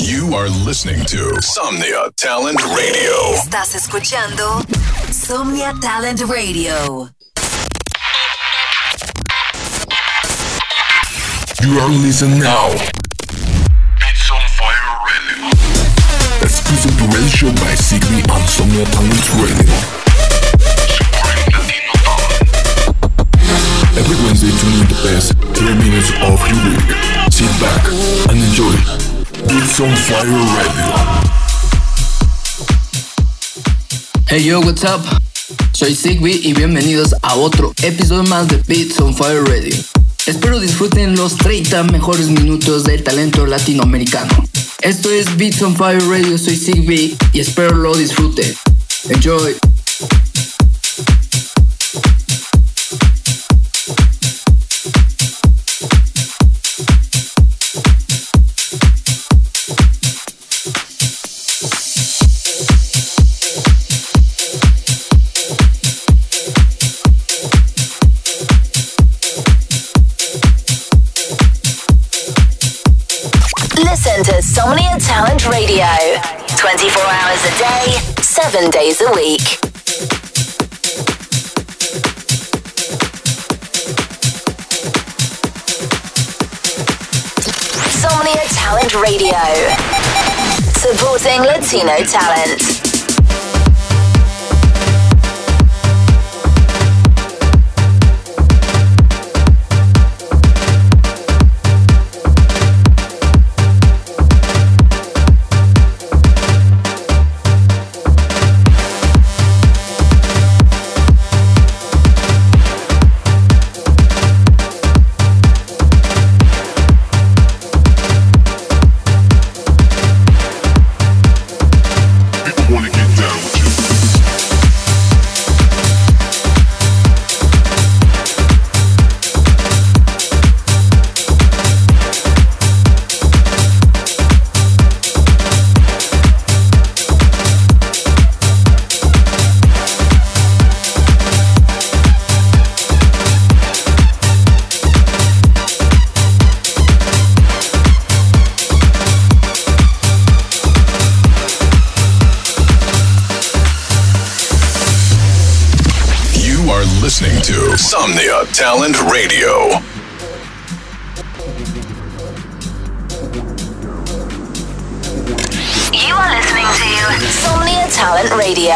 You are listening to Somnia Talent Radio. Estás escuchando Somnia Talent Radio. You are listening now. Beats on Fire Radio. Exclusive radio show by Sigby on Somnia Talent Radio. Supporting Latino talent. Every Wednesday, tune in the best 3 minutes of your week. Sit back and enjoy Beats on Fire Radio. Hey yo, what's up? Soy Sigby y bienvenidos a otro episodio más de Beats on Fire Radio. Espero disfruten los 30 mejores minutos del talento latinoamericano. Esto es Beats on Fire Radio, soy Sigby y espero lo disfruten. Enjoy. Listen to Somnia Talent Radio 24 hours a day, 7 days a week. Somnia Talent Radio, supporting Latino talent. Listening to Somnia Talent Radio. You are listening to Somnia Talent Radio.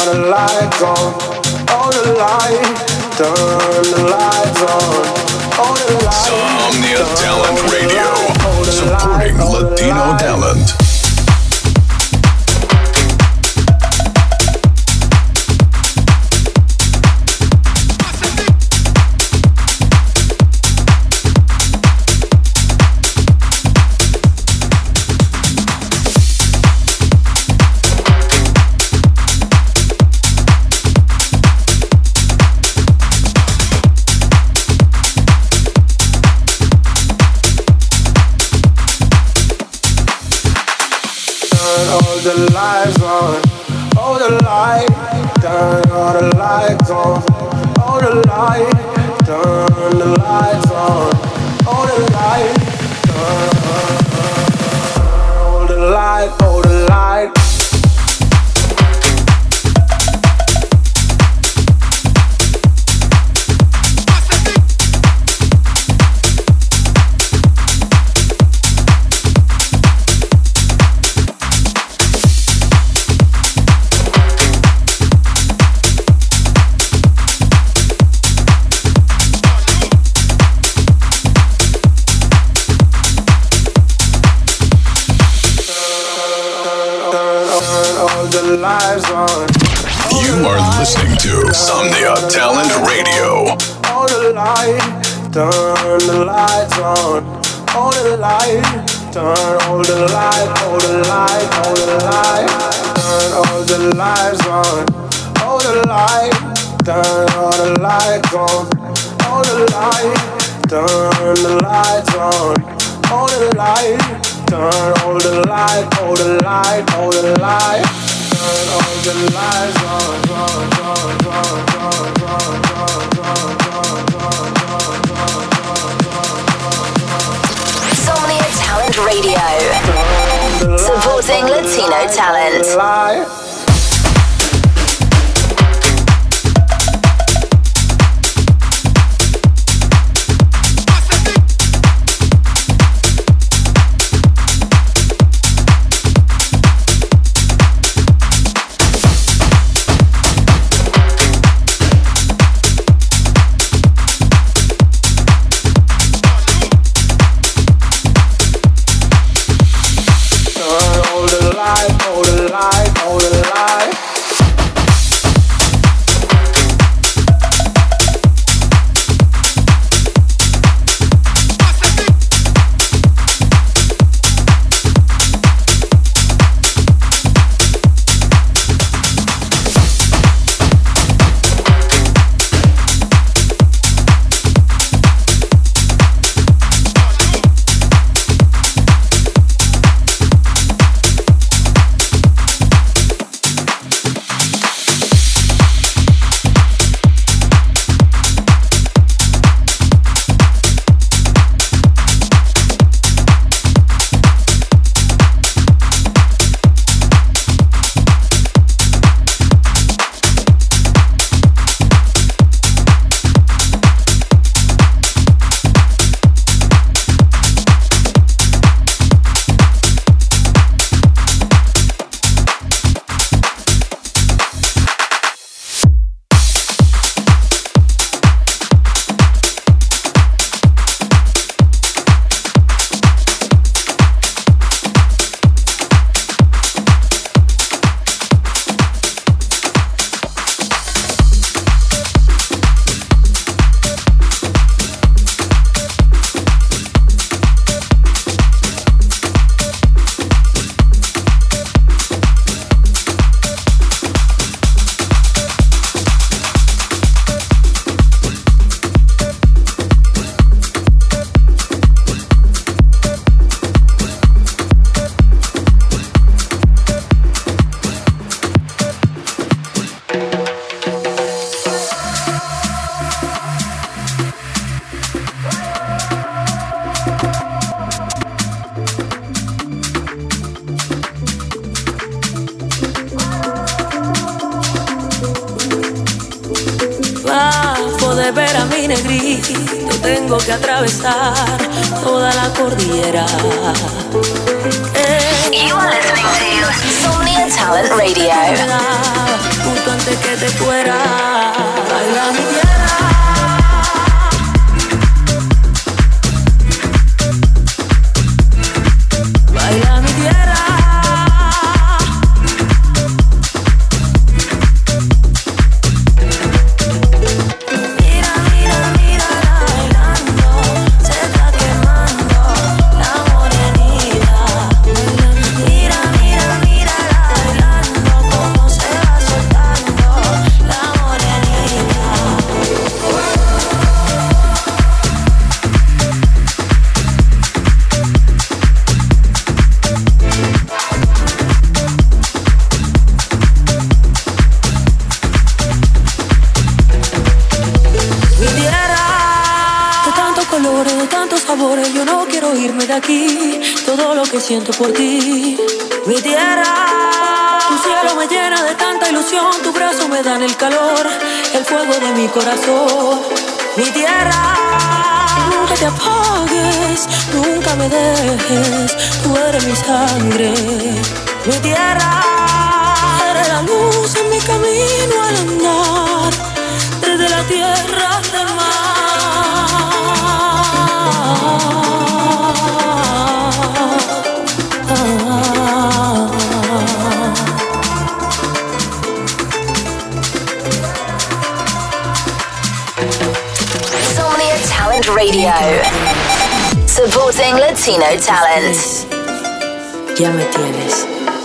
Somnia Talent Radio, supporting Latino talent. You are listening to Somnia Talent Radio. All the light, turn the lights on. All the light, turn all the light, all the light, all the light. Turn all the lights on. All the light, turn all the lights on. All the light, turn the lights on. All the light, turn all the light, all the light, all the light. Turn all the lights on. Somnia Talent Radio, supporting Latino talent. de ver a mi negrito, tengo que atravesar toda la cordillera. You are listening to Somnia Talent Radio. Junto a quiero irme de aquí, todo lo que siento por ti. Mi tierra, tu cielo me llena de tanta ilusión, tu brazo me dan el calor, el fuego de mi corazón. Mi tierra, nunca te apagues, nunca me dejes, tú eres mi sangre. Mi tierra, eres la luz en mi camino al andar, desde la tierra hasta el mar. Insomnia Talent Radio, supporting Latino talent. Ya me tienes.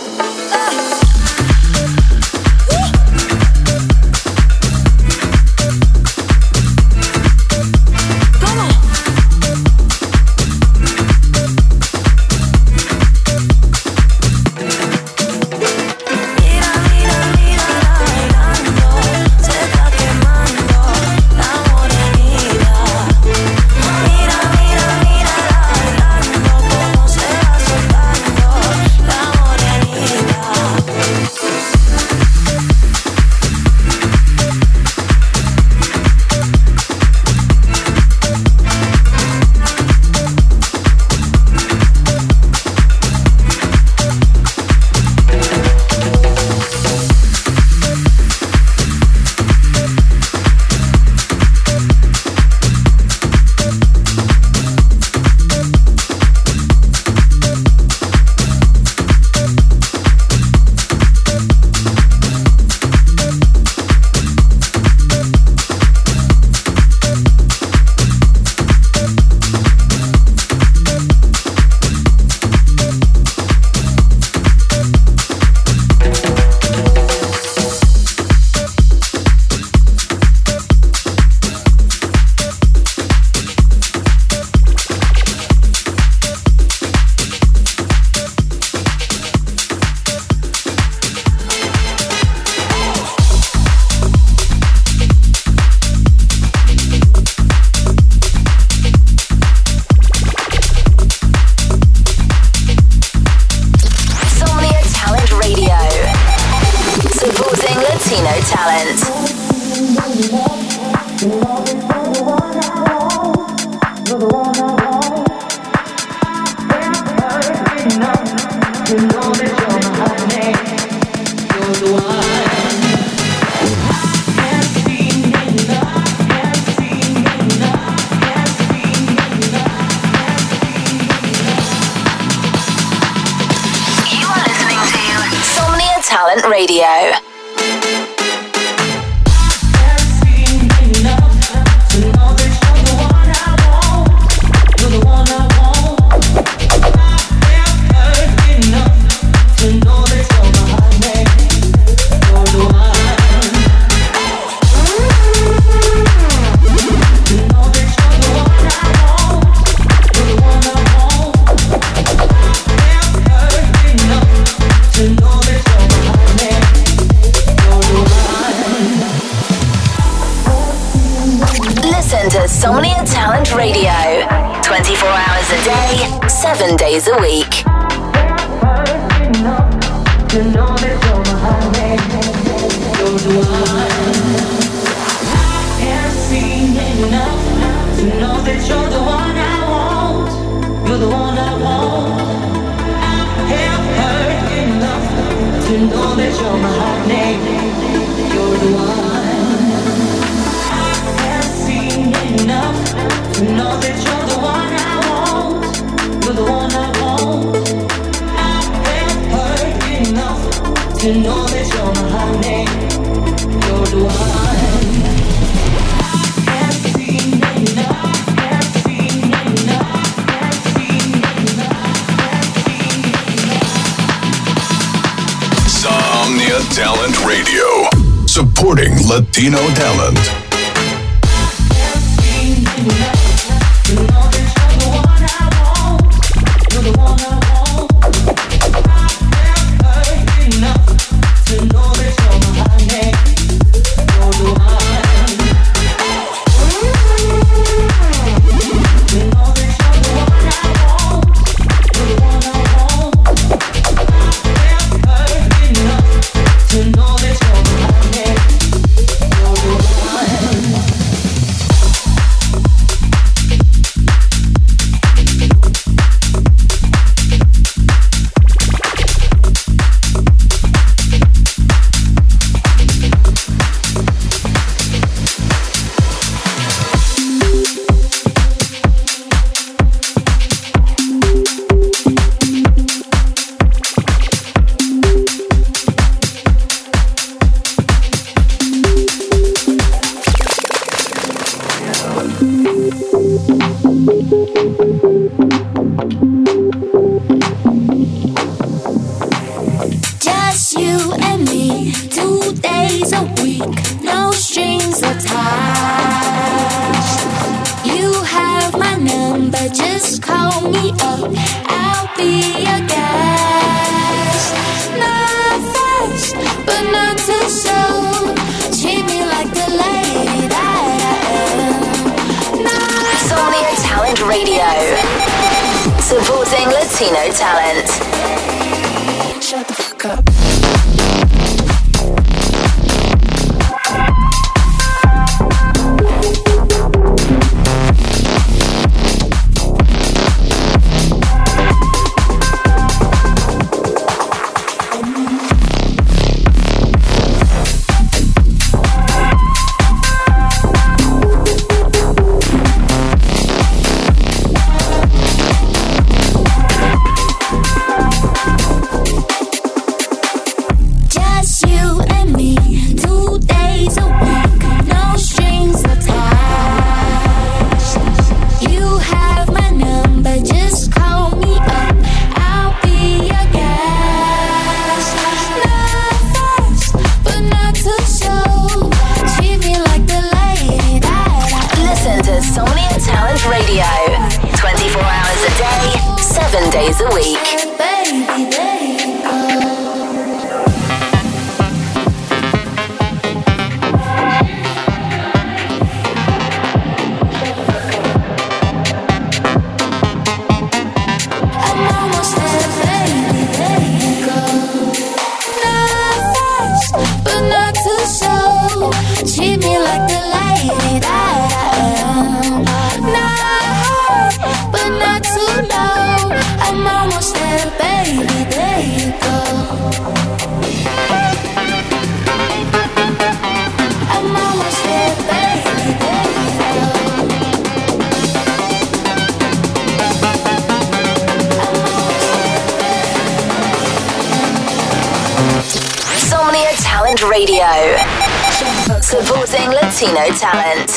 Talent Radio. Insomnia Talent Radio, 24 hours a day, 7 days a week. To know that you're my honey, you're the one. Can't see enough, can't see enough, can't see enough. Insomnia Talent Radio, supporting Latino talent. Can't see enough, to know that you're the one I want, you're the one I want. To know that you're my honey, you're the one. To know that you're the one I want. Just you and me, 2 days a week, no strings attached. You have my number, just call me up, I'll be your guest. Not fast, but not too slow. Treat me like the lady that I am. Insomnia Talent Radio, supporting Latino talent. Shut the fuck up. Radio, supporting Latino talent.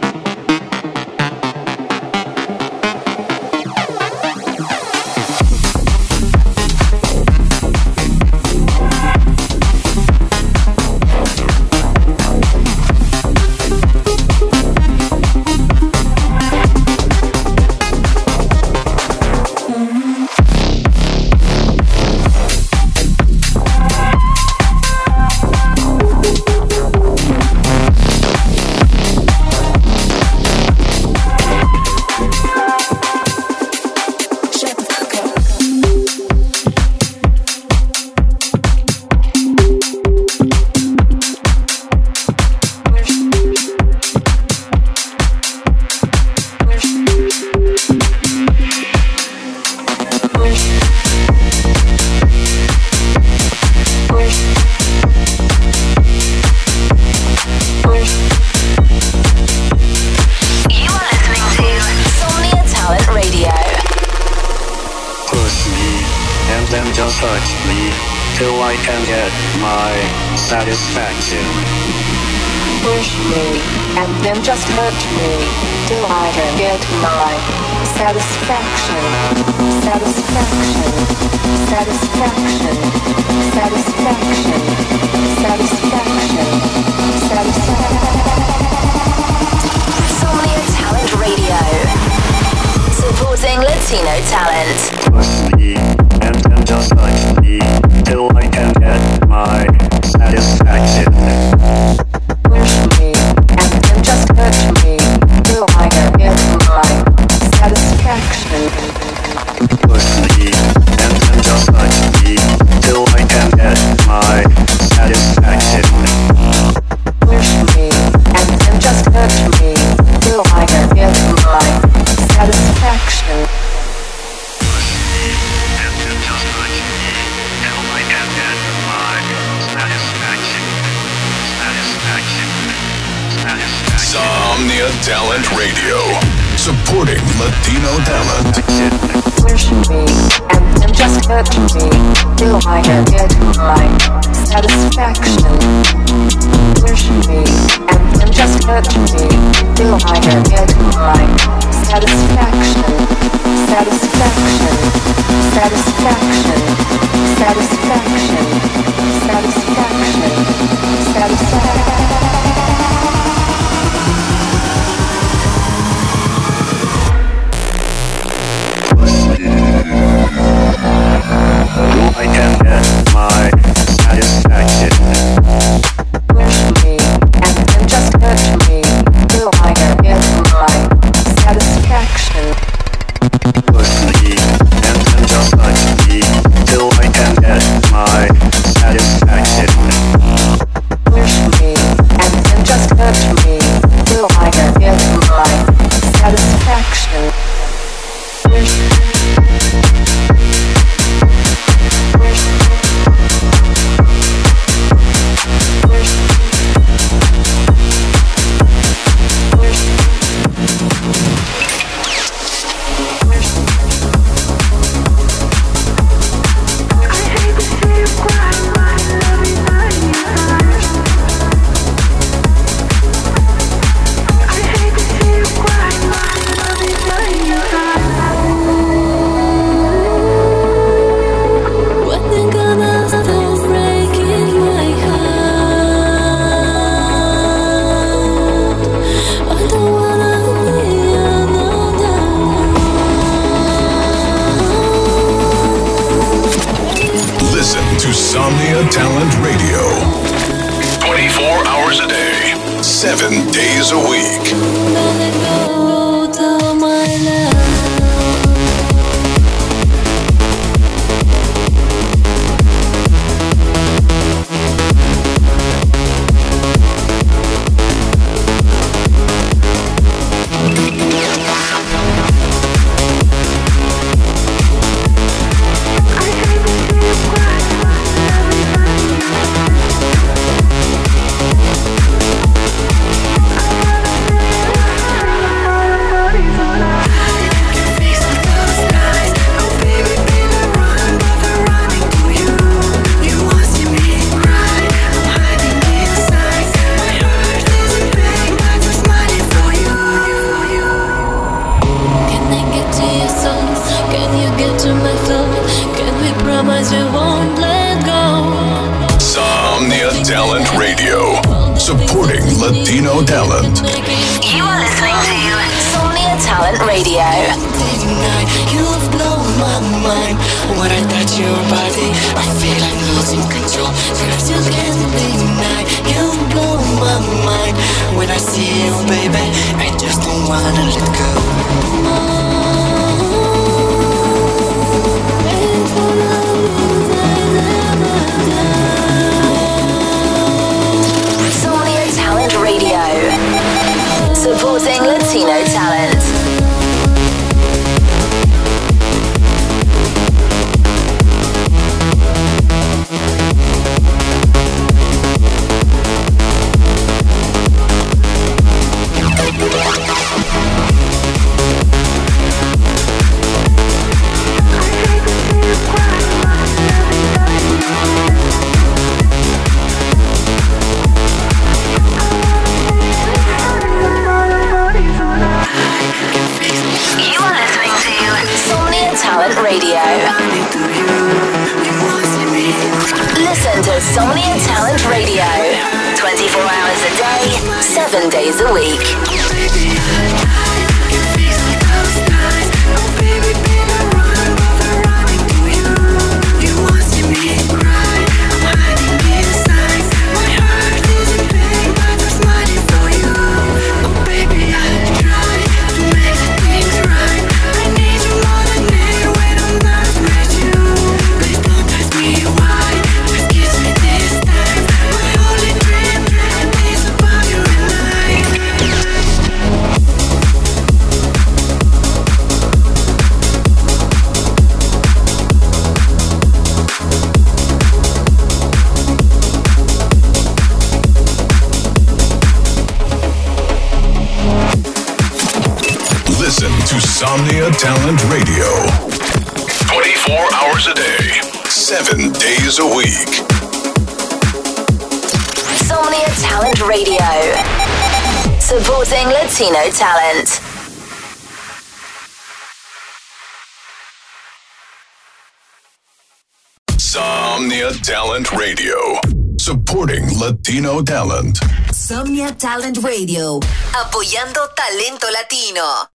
Satisfaction. Push me, and then just hurt me, till I can get my satisfaction. Satisfaction. Satisfaction. Satisfaction. Satisfaction. Satisfaction. Insomnia Talent Radio, supporting Latino talent. Push me, and then just hurt me, till I can get my satisfaction. Push me, and then just hurt me, till I can get my satisfaction. Push me, and then just hurt me, till I can get my satisfaction. Push me, and then just hurt me, till I can get my satisfaction. Push me, and then just hurt me, till I can get my satisfaction. Insomnia Talent Radio, supporting Latino talent. Push me, and then just hurt me, till I can get my satisfaction. Push me, and then just hurt me, till I can get my Insomnia Talent Radio. 24 hours a day, 7 days a week. Talent Radio, supporting Latino talent. You are listening to Insomnia Talent Radio. You've blown my mind. When I touch your body, I feel I'm losing control. Cause you can't deny. You blow my mind. When I see you, baby, I just don't wanna let go. Radio, supporting Latino talent. Radio. Listen to Insomnia Talent Radio 24 hours a day, 7 days a week. Insomnia Talent Radio. 24 hours a day, 7 days a week. Insomnia Talent Radio, supporting Latino talent. Somnia Talent Radio. Supporting Latino talent. Somnia Talent Radio. Apoyando talento latino.